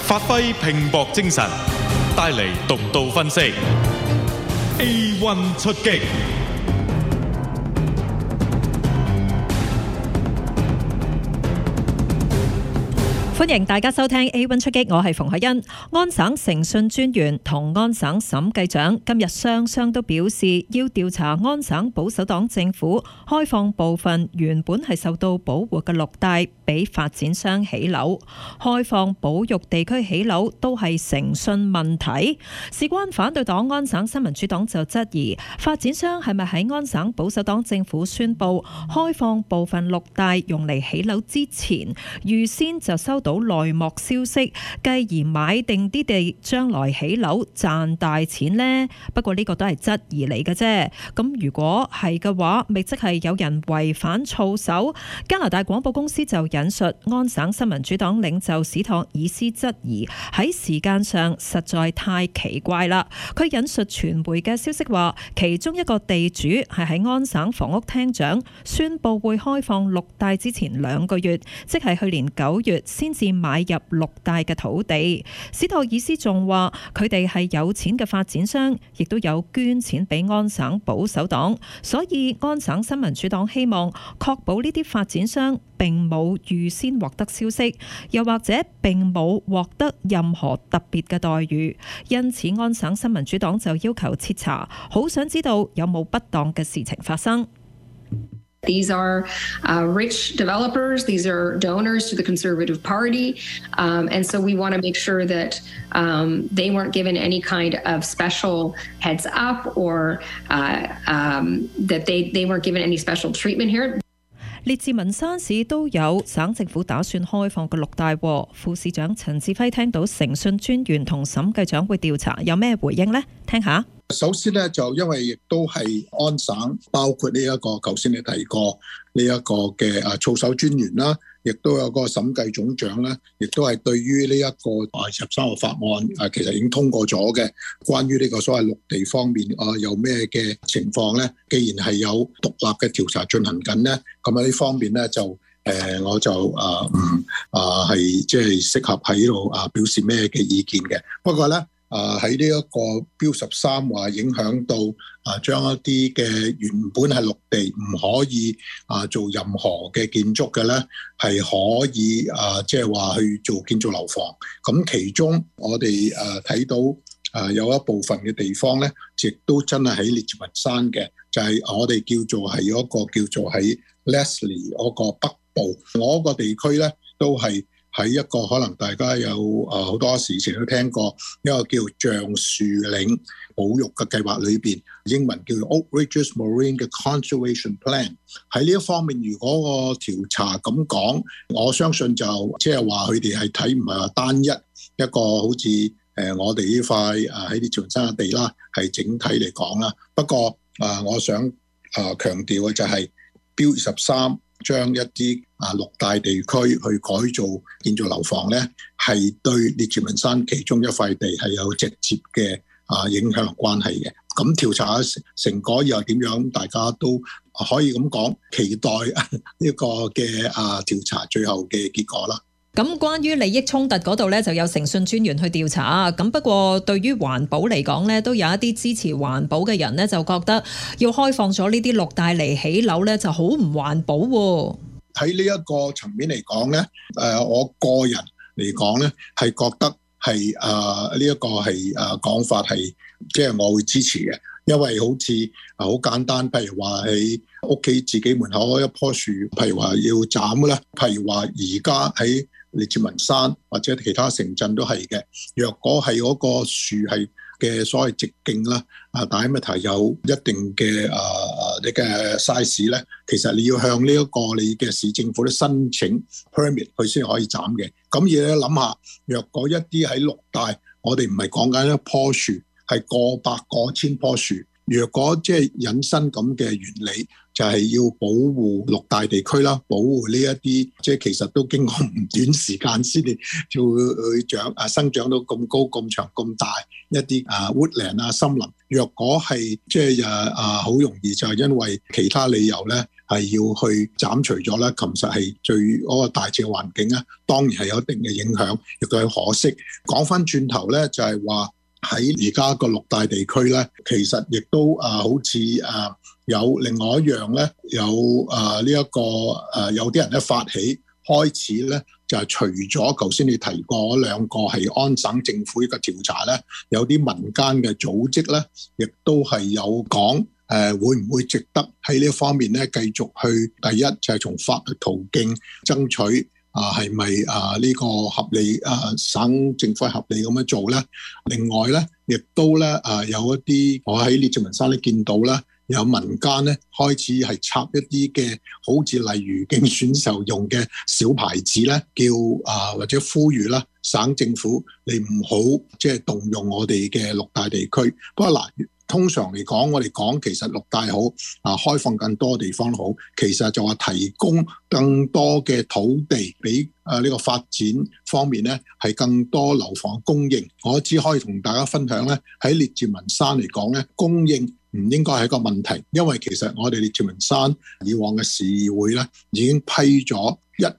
發揮拼搏精神，帶嚟獨到分析。A1 出擊。 歡迎大家收聽 A1 出擊，我係馮海欣。安省誠信專員同安省審計長今日雙雙都表示，要調查安省保守黨政府開放部分原本係受到保護嘅綠帶俾發展商起樓，開放保育地區起樓都係誠信問題。事關反對黨安省新民主黨就質疑，發展商係咪喺安省保守黨政府宣布開放部分綠帶用嚟起樓之前，預先就收到內幕消息，繼而買定啲地將來起樓賺大錢呢？不過呢個都係質疑嚟嘅啫。咁如果係嘅話，咪即係有人違反操守。加拿大廣播公司就引述安省新民主黨領袖史托爾斯質疑喺時間上實在太奇怪啦。佢引述傳媒嘅消息話，其中一個地主係喺安省房屋廳長宣布會開放綠帶之前2個月，即係去年9月先至買入綠帶嘅土地。史托爾斯仲話佢哋係有錢嘅發展商，亦都有捐錢俾安省保守黨，所以安省新民主黨希望確保呢啲發展商並冇預先獲得消息，又或者並冇獲得任何特別嘅待遇。因此安省新民主黨就要求徹查，好想知道有冇不當嘅事情發生。 These are rich developers. These are donors to the Conservative Party. And so we want to make sure that they weren't given any kind of special heads up or that they weren't given any special treatment here. 列治文山市都有省政府打算開放嘅綠帶，副市長陳志輝聽到誠信專員同審計長會調查，有咩回應呢？聽下。 首先呢，就因為亦都係安省，包括呢一個頭先你提過呢一個嘅操守專員啦，亦都有個審計總長啦，亦都係對於呢一個23號法案其實已經通過咗嘅，關於呢個所謂綠地方面有咩嘅情況呢？既然係有獨立嘅調查進行緊呢，咁喺呢方面呢，就我就係即係適合喺度表示咩嘅意見嘅。不過呢，喺呢一個標13話影響到將一啲嘅原本係綠地唔可以做任何嘅建築嘅咧，係可以即係話去做建造樓房。咁其中我哋睇到有一部分嘅地方咧，亦都真係喺列治文山嘅，就係我哋叫做係嗰個叫做喺 Leslie 嗰個北部，我個地區咧都係喺一個可能大家有好多時前都聽過一個叫橡樹嶺保育嘅計劃裏邊，英文叫做 Oak Ridges Marine 嘅 Conservation Plan。喺呢一方面，如果個調查咁講，我相信就即係話佢哋係睇唔係話單一一個好似我哋呢塊喺列治文山嘅地啦，係整體嚟講啦。不過我想強調嘅就係標23。將一啲綠帶地區去改造建造樓房咧，係對列治文山其中一塊地係有直接嘅影響關係嘅。咁調查成果又點樣？大家都可以咁講，期待呢個嘅調查最後嘅結果啦。 咁關於利益衝突嗰度咧，就有誠信專員去調查。咁不過對於環保嚟講咧，都有一啲支持環保嘅人咧，就覺得要開放咗呢啲綠帶嚟起樓咧，就好唔環保喎。 喺呢一個層面嚟講咧，我個人嚟講咧，係覺得係呢一個係講法係即係我會支持嘅，因為好似好簡單，譬如話喺屋企自己門口一棵樹，譬如話要斬咧，譬如話而家喺列治文山或者其他城鎮都係嘅。若果係嗰個樹係嘅所謂直徑啦，diameter 有一定嘅你嘅 size 咧，其實你要向呢一個你嘅市政府咧申請 permit， 佢先可以斬嘅。咁而你諗下，若果一啲喺綠帶，我哋唔係講緊一棵樹，係過百過千棵樹， 若果即係引申咁嘅原理，就係要保護綠帶地區啦，保護呢一啲即係其實都經過唔短時間先至就會生長到咁高、咁長、咁大一啲woodland 啊森林。若果係即係好容易就係因為其他理由咧，係要去斬除咗咧，其實係對嗰個大自然環境咧，當然係有一定嘅影響，亦都係可惜。講翻轉頭咧，就係話喺而家個綠帶地區咧，其實亦都好似有另外一樣咧，有呢一個有啲人咧發起開始咧，就係除咗頭先你提過嗰兩個係安省政府呢個調查咧，有啲民間嘅組織咧，亦都係有講會唔會值得喺呢一方面咧繼續去第一就係從法律途徑爭取係咪呢個合理省政府係合理咁樣做咧？另外咧，亦都咧有一啲我喺列治文山咧見到咧，有民間咧開始係插一啲嘅好似例如競選時候用嘅小牌子咧，叫或者呼籲啦省政府你唔好即係動用我哋嘅綠帶地區。不過嗱，通常嚟講，我哋講其實綠帶好開放更多地方好，其實就話提供更多嘅土地俾呢個發展方面咧，係更多樓房供應。我只可以同大家分享咧，喺列治文山嚟講咧，供應唔應該係一個問題，因為其實我哋列治文山以往嘅市議會咧已經批咗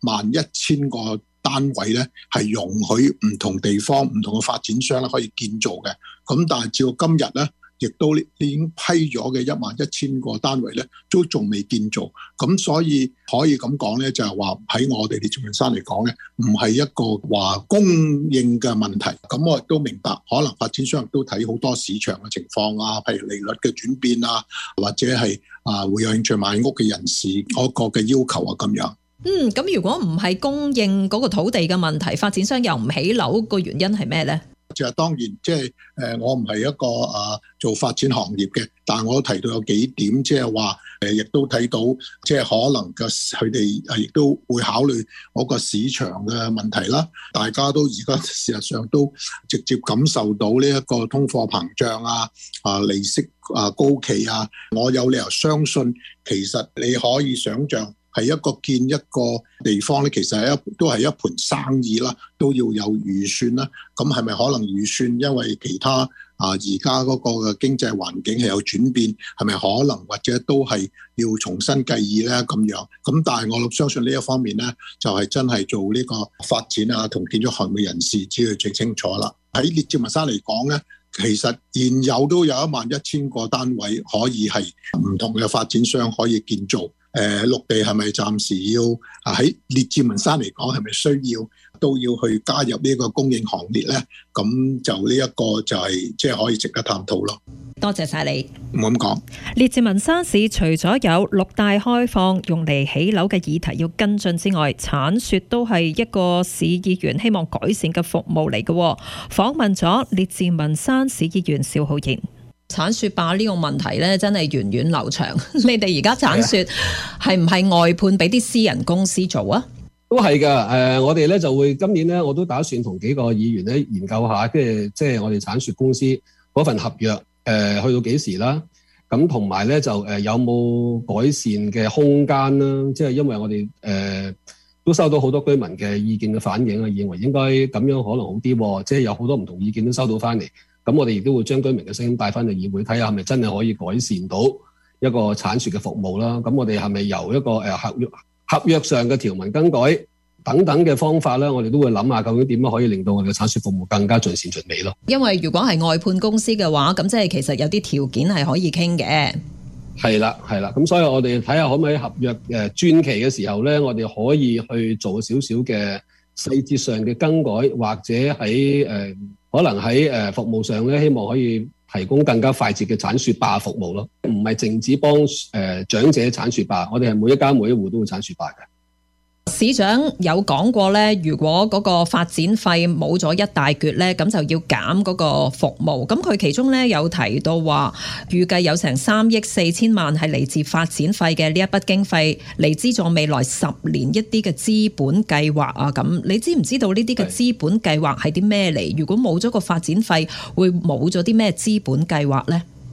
11000個單位咧，係容許唔同地方、唔同嘅發展商咧可以建造嘅。咁但係照今日咧，亦都已經批咗嘅11000個單位咧，都仲未建造。咁所以可以咁講咧，就係話喺我哋列治文山嚟講咧，唔係一個話供應嘅問題。咁我亦都明白，可能發展商亦都睇好多市場嘅情況啊，譬如利率嘅轉變啊，或者係會有興趣買屋嘅人士嗰個嘅要求啊咁樣。 咁如果唔係供應嗰個土地嘅問題，發展商又唔起樓，個原因係咩咧？ 就係當然，即係我唔係一個做發展行業嘅，但係我都提到有幾點，即係話亦都睇到，即係可能佢哋亦都會考慮嗰個市場嘅問題啦。大家都而家事實上都直接感受到呢一個通貨膨脹利息高企啊，我有理由相信，其實你可以想像。係建一個地方咧，其實都係一盤生意啦，都要有預算啦。咁係咪可能預算因為其他而家嗰個嘅經濟環境係有轉變，係咪可能或者都係要重新計議咧咁樣？咁但係我相信呢一方面咧，就係真係做呢個發展同建築行業人士知道最清楚啦。喺列治文山嚟講咧，其實現有都有11000個單位可以係唔同嘅發展商可以建造。綠地係咪暫時要喺列治文山嚟講係咪需要都要去加入呢個供應行列咧？咁就呢一個就係即係可以值得探討咯。 多謝晒你。 唔好咁講。 列治文山市除咗有綠帶開放用嚟起樓嘅議題要跟進之外，鏟雪都係一個市議員希望改善嘅服務嚟嘅。訪問咗列治文山市議員邵浩然。鏟雪壩呢個問題咧，真係源遠流長。你哋而家鏟雪係唔係外判俾啲私人公司做啊？ 都係噶。我哋咧就會今年咧，我都打算同幾個議員咧研究下，即係我哋鏟雪公司嗰份合約去到幾時啦。咁同埋咧就有冇改善嘅空間啦。即係因為我哋都收到好多居民嘅意見嘅反映啊，認為應該咁樣可能好啲。即係有好多唔同意見都收到翻嚟。咁我哋亦都會將居民嘅聲音帶翻去議會，睇下係咪真係可以改善到一個鏟雪嘅服務啦。咁我哋係咪由一個合約上嘅條文更改等等嘅方法咧，我哋都會諗下究竟點樣可以令到我哋嘅鏟雪服務更加盡善盡美咯。因為如果係外判公司嘅話，咁即係其實有啲條件係可以傾嘅。係啦，咁所以我哋睇下可唔可以合約轉期嘅時候咧，我哋可以去做少少嘅細節上嘅更改，或者喺可能喺服務上咧，希望可以提供更加快捷嘅鏟雪壩服務咯，唔係淨止幫長者鏟雪壩，我哋係每一家每一戶都會鏟雪壩嘅。市長有講過咧，如果嗰個發展費冇咗一大橛咧，咁就要減嗰個服務。咁佢其中咧有提到話，預計有成3億4千萬係嚟自發展費嘅呢一筆經費嚟資助未來10年一啲嘅資本計劃啊。咁你知唔知道呢啲嘅資本計劃係啲咩嚟？如果冇咗個發展費，會冇咗啲咩資本計劃咧？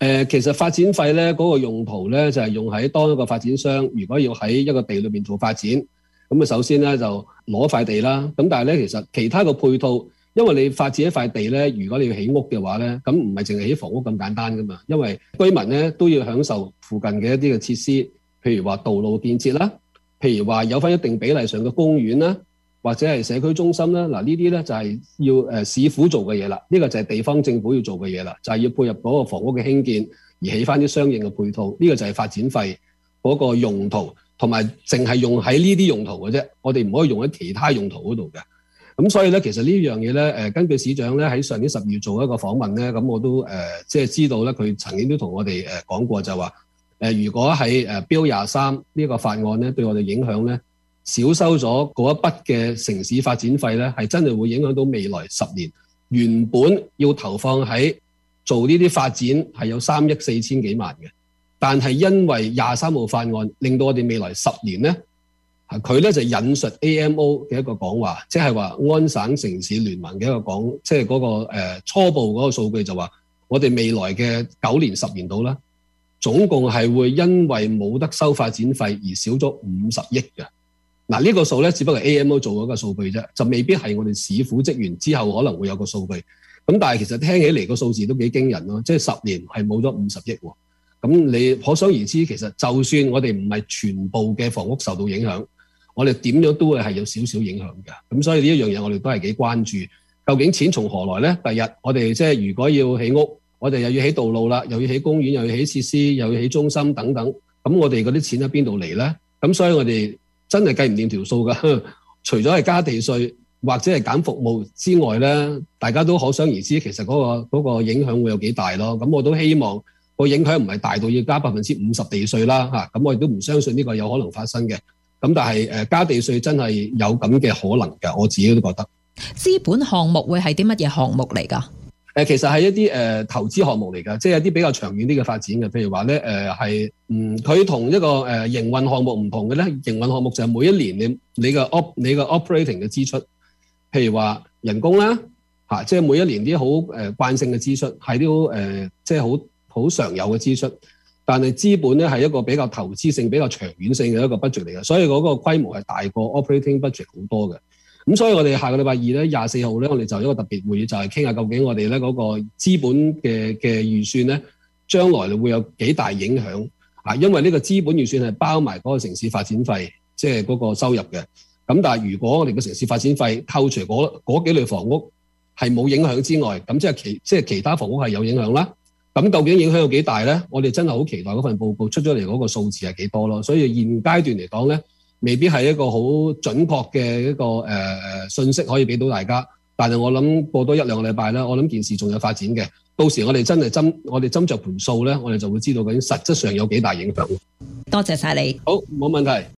其實發展費咧嗰個用途咧就係用喺當一個發展商如果要喺一個地裏面做發展，咁啊首先咧就攞塊地啦。咁但係咧其實其他個配套，因為你發展一塊地咧，如果你要起屋嘅話咧，咁唔係淨係起房屋咁簡單噶嘛。因為居民咧都要享受附近嘅一啲嘅設施，譬如話道路建設啦，譬如話有翻一定比例上嘅公園啦，或者係社區中心啦。嗱呢啲咧就係要市府做嘅嘢啦。呢個就係地方政府要做嘅嘢啦，就係要配合嗰個房屋嘅興建而起翻啲相應嘅配套。呢個就係發展費嗰個用途，同埋淨係用喺呢啲用途嘅啫。我哋唔可以用喺其他用途嗰度嘅。咁所以咧，其實呢樣嘢咧，根據市長咧喺上年12月做一個訪問咧，咁我都即係知道咧，佢曾經都同我哋講過，就話如果喺Bill 23呢個法案咧對我哋影響咧，少收咗嗰一筆嘅城市發展費咧，係真係會影響到未來10年原本要投放喺做呢啲發展係有3億4千幾萬嘅，但係因為23號法案令到我哋未來10年咧。佢咧就引述 AMO 嘅一個講話，即係話安省城市聯盟嘅一個講，即係嗰個初步嗰個數據就話，我哋未來嘅9年10年度啦，總共係會因為冇得收發展費而少咗50億嘅。嗱呢個數咧，只不過 AMO 做咗個數據啫，就未必係我哋市府職員之後可能會有個數據。咁但係其實聽起嚟個數字都幾驚人咯，即係10年係冇咗50億喎。咁你可想而知，其實就算我哋唔係全部嘅房屋受到影響，我哋點樣都會係有少少影響嘅。咁所以呢一樣嘢我哋都係幾關注，究竟錢從何來呢？第日我哋即係如果要起屋，我哋又要起道路啦，又要起公園，又要起設施，又要起中心等等，咁我哋嗰啲錢喺邊度嚟呢？咁所以我哋真係計唔掂條數㗎。除咗係加地稅或者係減服務之外呢，大家都可想而知其實嗰個影響會有幾大咯。咁我都希望個影響唔係大到要加50%地稅啦嚇，咁我亦都唔相信呢個有可能發生嘅。咁但係加地稅真係有咁嘅可能㗎，我自己都覺得。 資本項目會係啲乜嘢項目嚟㗎？ 其實係一啲投資項目嚟㗎，即係一啲比較長遠啲嘅發展嘅。譬如話咧佢同一個營運項目唔同嘅咧，營運項目就係每一年你個 operating 嘅支出，譬如話人工啦嚇，即係每一年啲好慣性嘅支出係啲即係好常有嘅支出。但係資本咧係一個比較投資性、比較長遠性嘅一個 budget 嚟嘅，所以嗰個規模係大過 operating budget 好多嘅。咁所以我哋下個禮拜2咧24號咧，我哋就有一個特別會議，就係傾下究竟我哋咧嗰個資本嘅預算咧，將來會有幾大影響啊？因為呢個資本預算係包埋嗰個城市發展費，即係嗰個收入嘅。咁但係如果我哋個城市發展費扣除嗰幾類房屋係冇影響之外，咁即係其他房屋係有影響啦。咁究竟影響有幾大咧？我哋真係好期待嗰份報告出咗嚟嗰個數字係幾多咯。所以現階段嚟講咧，未必係一個好準確嘅一個信息可以俾到大家。但係我諗過多1-2個禮拜咧，我諗件事仲有發展嘅。到時我哋真係斟酌盤數咧，我哋就會知道究竟實質上有幾大影響。 多謝晒你。 好，冇問題。